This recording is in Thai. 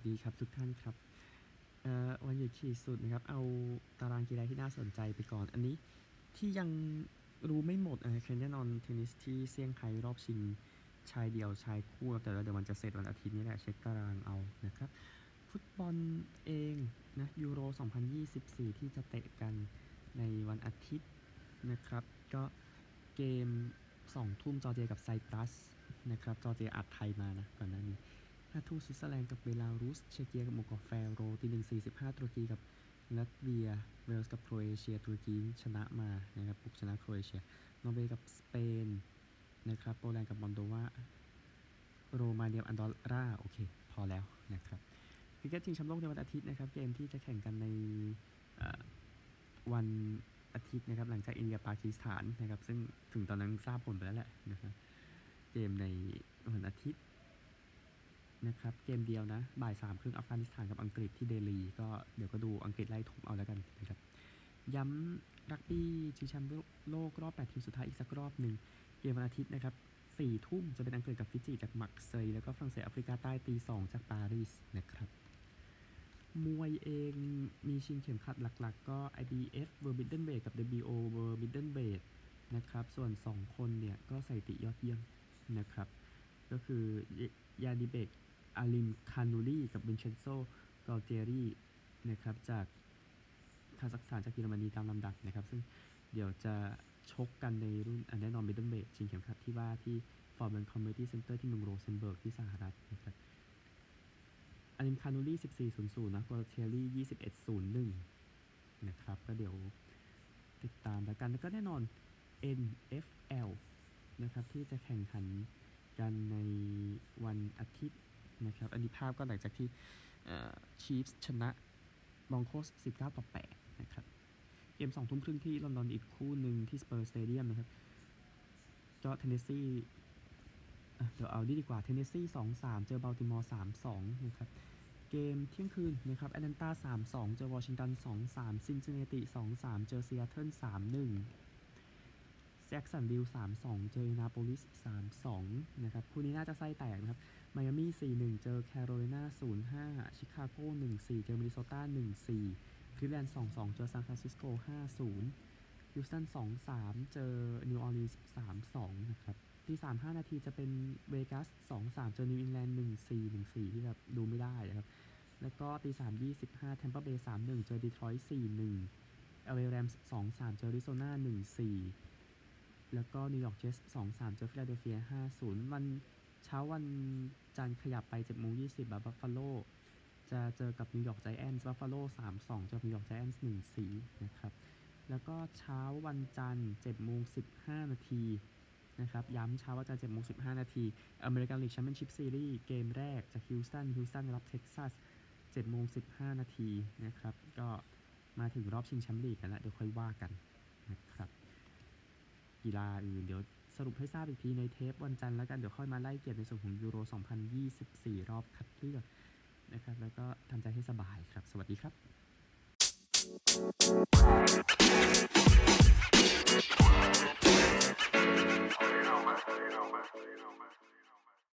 ดีครับทุกท่านครับวันหยุดขีดสุดนะครับเอาตารางกีฬาที่น่าสนใจไปก่อนอันนี้ที่ยังรู้ไม่หมดคือแน่นอนเทนนิสที่เซี่ยงไฮ้รอบชิงชายเดี่ยวชายคู่แต่เดี๋ยวมันจะเสร็จวันอาทิตย์นี้แหละเช็คตารางเอานะครับฟุตบอลเองนะยูโร2024ที่จะเตะกันในวันอาทิตย์นะครับก็เกม2 ทุ่มจอร์เจียกับไซปรัสนะครับจอร์เจียอัดไทยมานะก่อนหน้านี้5 ทุ่มสวิตเซอร์แลนด์กับเบลารุสเชเกียกับโมกอแฟโรตี 1:45ตุรกีกับลัตเวียเวลส์กับโครเอเชียตุรกีชนะมานะครับบุกชนะโครเอเชียนอร์เวย์กับสเปนนะครับโปแลนด์กับมอลโดวาโรมาเนียอันดอร่าโอเคพอแล้วนะครับคริกเก็ตชิงแชมป์โลกในวันอาทิตย์นะครับเกมที่จะแข่งกันในวันอาทิตย์นะครับหลังจากอินเดียปากีสถานนะครับซึ่งถึงตอนนั้นทราบผลไปแล้วแหละนะครับเกมในวันอาทิตย์นะครับเกมเดียวนะบ่าย 3 ครึ่งอัฟกานิสถานกับอังกฤษที่เดลีก็เดี๋ยวก็ดูอังกฤษไล่ทุบเอาแล้วกันนะครับย้ำรักบี้ชิงแชมป์โลกรอบ 8 ทีมสุดท้ายอีกสักรอบหนึ่งเกมวันอาทิตย์นะครับ 4 ทุ่มจะเป็นอังกฤษกับฟิจิจากมักเซย์แล้วก็ฝรั่งเศสแอฟริกาใต้ตี 2จากปารีสนะครับมวยเองมีชิงเข็มขัดหลักๆก็ IBF World Middleweight กับ WBO World Middleweight นะครับส่วน2คนเนี่ยก็ใส่ติยอดเยี่ยมนะครับก็คือยาดิเบกอาลิมคานูรีกับวินเชนโซกอลเจรีนะครับจากคาซัคสถานจากเยอรมนีตามลำดับนะครับซึ่งเดี๋ยวจะชกกันในรุ่นแน่นอนมิดเดิลเวทชิงเข็มขัดที่ว่าที่ฟอร์ดแบงค์คอมมูนิตี้เซ็นเตอร์ที่เมืองโรเซนเบิร์กที่สหรัฐนะครับอาลิมคานูรี14:00นะกอลเจรี21:01นะครับก็เดี๋ยวติดตามแล้วกันแล้วก็แน่นอน NFL นะครับที่จะแข่งขันกันในวันอาทิตย์นะครับอันนี้ภาพก็หลังจากที่ชีฟส์ชนะบรอนโคส19-8นะครับเกม 2 ทุ่มครึ่งที่ลอนดอนอีกคู่หนึ่งที่สเปอร์สเตเดียมนะครับก็เทนเนสซีเดี๋ยวเอาดีกว่าเทนเนสซี 2-3 เจอบัลติมอร์ 3-2 นะครับเกมเที่ยงคืนนะครับแอตแลนตา 3-2 เจอวอชิงตัน 2-3 ซินซินเนติ 2-3 เจอซีแอตเทิล 3-1แจ็คสันวิล 3-2 เจออินนาโปลิส 3-2 นะครับคู่นี้น่าจะไส้แตกนะครับไมอามี่ 4-1 เจอแคโรไลนา 0-5 ชิคาโก 1-4 เจอมินนิโซตา 1-4 คลิฟแลนด์ 2-2 เจอซานฟรานซิสโก 5-0 ฮิวสตัน 2-3 เจอนิวออร์ลีนส์ 3-2 นะครับที่ 3-5 นาทีจะเป็นเวกัส 2-3 เจอนิวอิงแลนด์ 1-4 ที่แบบดูไม่ได้นะครับแล้วก็ตี 3:25 แทมเปอร์เบย์ 3-1 เจอดีทรอยต์ 4-1 LA Rams 2-3 เจออริโซนา 1-4 แล้วก็นิวยอร์กเจสต์ 2-3 เจอฟิลาเดลเฟีย 5-0 วันเช้าวันจันทร์ขยับไป 7:20 บัฟฟาโลจะเจอกับนิวยอร์กไจแอนท์บัฟฟาโล 3-2 เจอนิวยอร์กไจแอนท์ 1-4 นะครับแล้วก็เช้าวันจันทร์ 7:15 นาทีนะครับย้ำเช้าวันจันทร์ 7:15 นาทีอเมริกันลีกแชมเปี้ยนชิพซีรีส์เกมแรกจากฮิวสตันรับเท็กซัส 7:15 นาทีนะครับก็มาถึงรอบชิงแชมป์ลีกกันแล้วเดี๋ยวค่อยว่ากันนะครับกีฬาอื่นเดี๋ยวสรุปให้ทราบอีกทีในเทปวันจันทร์แล้วกันเดี๋ยวค่อยมาไล่เก็บในส่วนของยูโร2024รอบคัดเลือกนะครับแล้วก็ทำใจให้สบายครับสวัสดีครับ